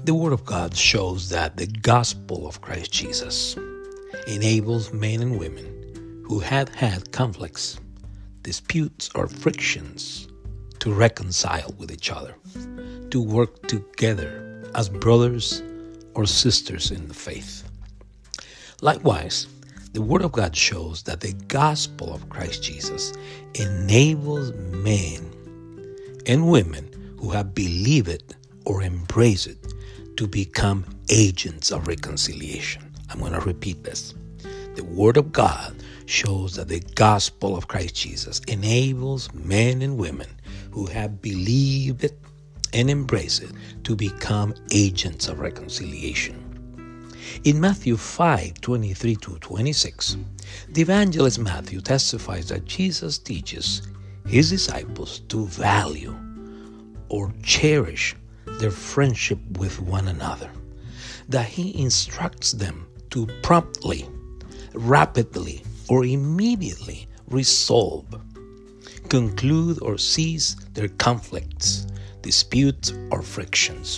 The Word of God shows that the gospel of Christ Jesus enables men and women who had had conflicts, disputes, or frictions to reconcile with each other, to work together as brothers or sisters in the faith. Likewise, the Word of God shows that the gospel of Christ Jesus enables men and women who have believed it or embraced it to become agents of reconciliation. I'm going to repeat this. The Word of God shows that the gospel of Christ Jesus enables men and women who have believed it and embraced it to become agents of reconciliation. In Matthew 5:23-26, the evangelist Matthew testifies that Jesus teaches his disciples to value or cherish their friendship with one another, that he instructs them to promptly, rapidly, or immediately resolve, conclude, or cease their conflicts, disputes, or frictions.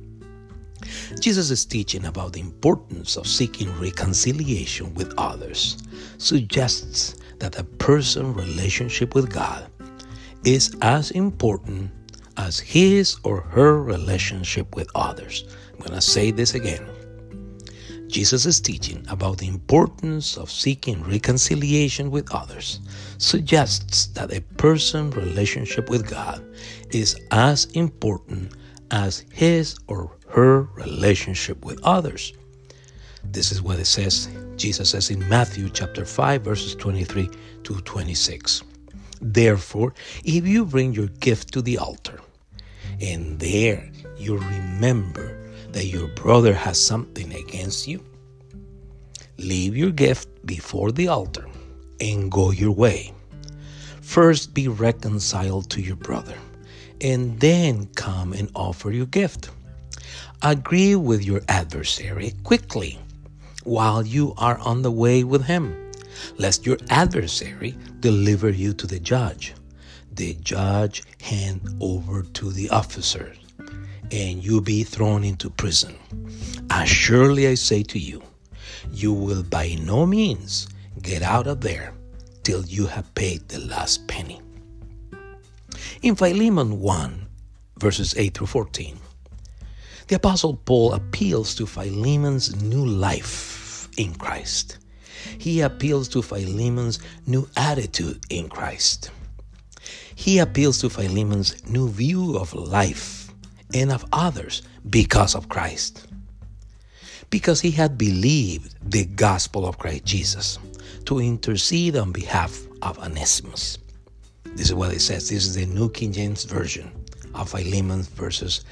Jesus' teaching about the importance of seeking reconciliation with others suggests that a person's relationship with God is as important as his or her relationship with others. I'm going to say this again. Jesus' teaching about the importance of seeking reconciliation with others suggests that a person's relationship with God is as important as his or her relationship with others. This is what it says, Jesus says in Matthew chapter 5, verses 23-26. Therefore, if you bring your gift to the altar, and there you remember that your brother has something against you, leave your gift before the altar and go your way. First be reconciled to your brother, and then come and offer your gift. Agree with your adversary quickly while you are on the way with him, lest your adversary deliver you to the judge hand over to the officers, and you be thrown into prison. As surely I say to you, you will by no means get out of there till you have paid the last penny. In Philemon 1, verses 8-14, the Apostle Paul appeals to Philemon's new life in Christ. He appeals to Philemon's new attitude in Christ. He appeals to Philemon's new view of life and of others because of Christ. Because he had believed the gospel of Christ Jesus to intercede on behalf of Onesimus. This is what it says. This is the New King James Version of Philemon verses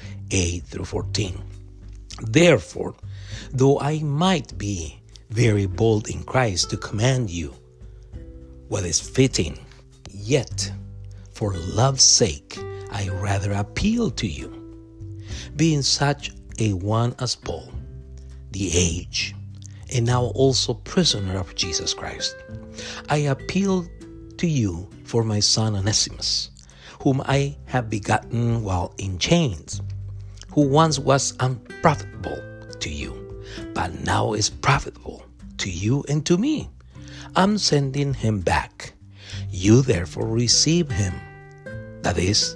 8-14. Therefore, though I might be very bold in Christ to command you what is fitting, yet for love's sake I rather appeal to you, being such a one as Paul, the aged, and now also prisoner of Jesus Christ. I appeal to you for my son Onesimus, whom I have begotten while in chains, who once was unprofitable to you, but now is profitable to you and to me. I'm sending him back. You therefore receive him, that is,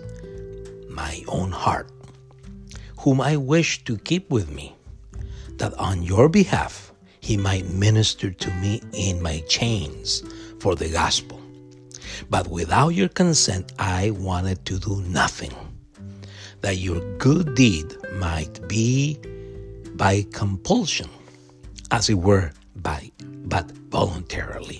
my own heart, whom I wish to keep with me, that on your behalf he might minister to me in my chains for the gospel. But without your consent I wanted to do nothing, that your good deed might be by compulsion, as it were, but voluntarily.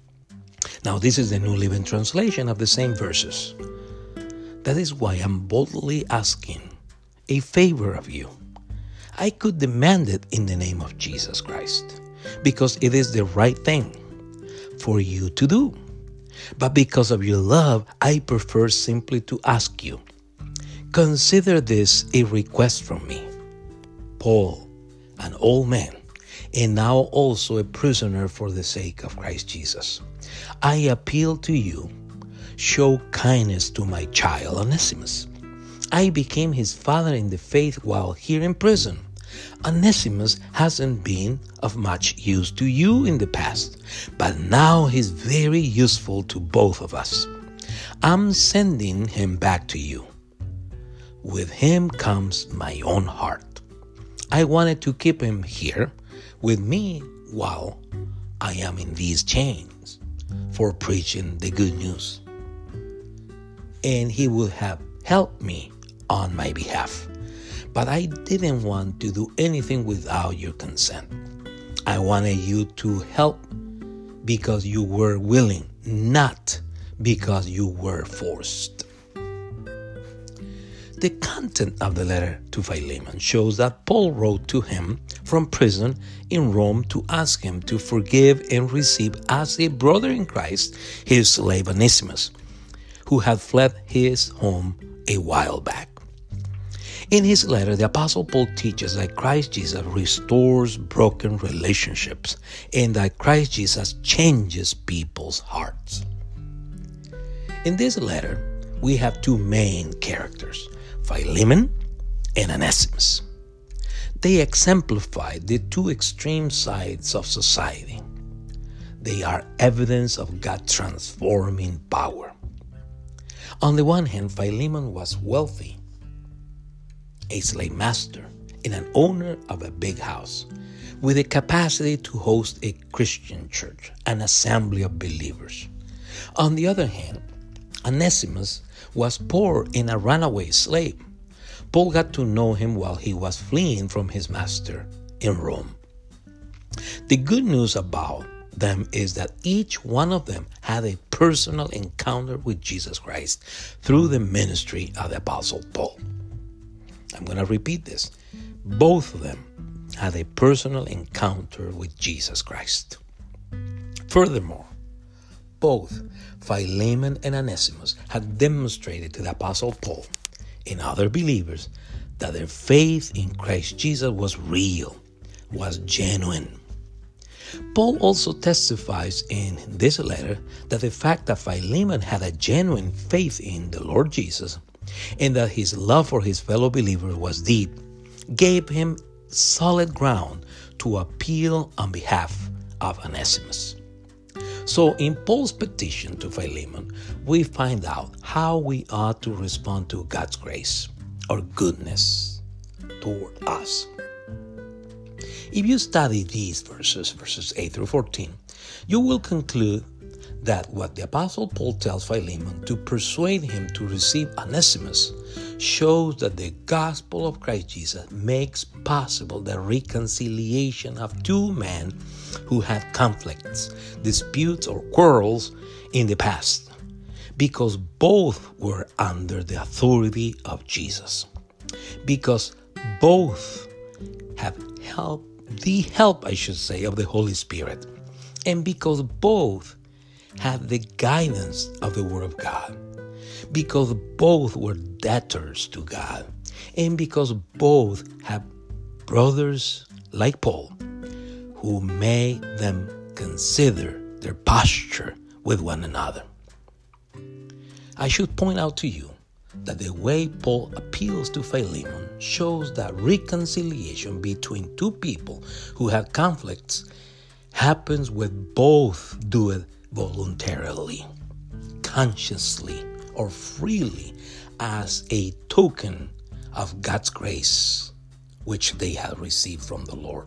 Now this is the New Living Translation of the same verses. That is why I'm boldly asking a favor of you. I could demand it in the name of Jesus Christ, because it is the right thing for you to do. But because of your love, I prefer simply to ask you. Consider this a request from me, Paul, an old man, and now also a prisoner for the sake of Christ Jesus. I appeal to you, show kindness to my child Onesimus, I became his father in the faith while here in prison. Onesimus hasn't been of much use to you in the past, but now he's very useful to both of us. I'm sending him back to you. With him comes my own heart. I wanted to keep him here with me while I am in these chains for preaching the good news. And he would have helped me on my behalf. But I didn't want to do anything without your consent. I wanted you to help because you were willing, not because you were forced. The content of the letter to Philemon shows that Paul wrote to him from prison in Rome to ask him to forgive and receive as a brother in Christ his slave Onesimus, who had fled his home a while back. In his letter, the Apostle Paul teaches that Christ Jesus restores broken relationships and that Christ Jesus changes people's hearts. In this letter, we have two main characters, Philemon and Onesimus. They exemplify the two extreme sides of society. They are evidence of God's transforming power. On the one hand, Philemon was wealthy, a slave master, and an owner of a big house, with the capacity to host a Christian church, an assembly of believers. On the other hand, Onesimus was poor and a runaway slave. Paul got to know him while he was fleeing from his master in Rome. The good news about them is that each one of them had a personal encounter with Jesus Christ through the ministry of the Apostle Paul. I'm going to repeat this. Both of them had a personal encounter with Jesus Christ. Furthermore, both Philemon and Onesimus had demonstrated to the Apostle Paul and other believers that their faith in Christ Jesus was real, was genuine. Paul also testifies in this letter that the fact that Philemon had a genuine faith in the Lord Jesus and that his love for his fellow believers was deep gave him solid ground to appeal on behalf of Onesimus. So in Paul's petition to Philemon, we find out how we ought to respond to God's grace or goodness toward us. If you study these verses 8 through 14, you will conclude that what the Apostle Paul tells Philemon to persuade him to receive Onesimus shows that the gospel of Christ Jesus makes possible the reconciliation of two men who had conflicts, disputes, or quarrels in the past, because both were under the authority of Jesus, because both have the help of the Holy Spirit, and because both have the guidance of the Word of God, because both were debtors to God, and because both have brothers like Paul who made them consider their posture with one another. I should point out to you that the way Paul appeals to Philemon shows that reconciliation between two people who have conflicts happens when both do it voluntarily, consciously, or freely as a token of God's grace, which they have received from the Lord.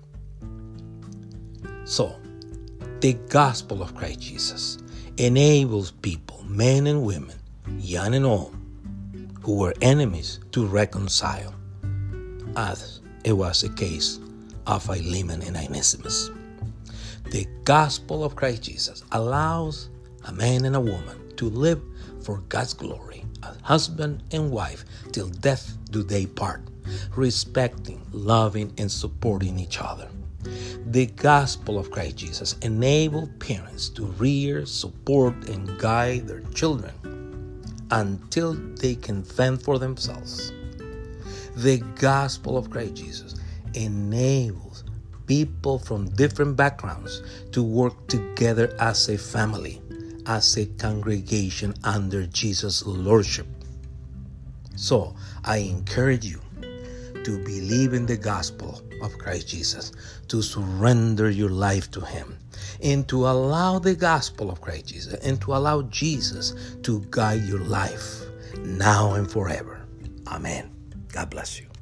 So, the gospel of Christ Jesus enables people, men and women, young and old, who were enemies to reconcile, as it was the case of Philemon and Onesimus. The gospel of Christ Jesus allows a man and a woman to live for God's glory as husband and wife till death do they part, respecting, loving, and supporting each other. The gospel of Christ Jesus enables parents to rear, support, and guide their children until they can fend for themselves. The gospel of Christ Jesus enables people from different backgrounds to work together as a family, as a congregation under Jesus' lordship. So I encourage you to believe in the gospel of Christ Jesus, to surrender your life to Him, and to allow the gospel of Christ Jesus and to allow Jesus to guide your life now and forever. Amen. God bless you.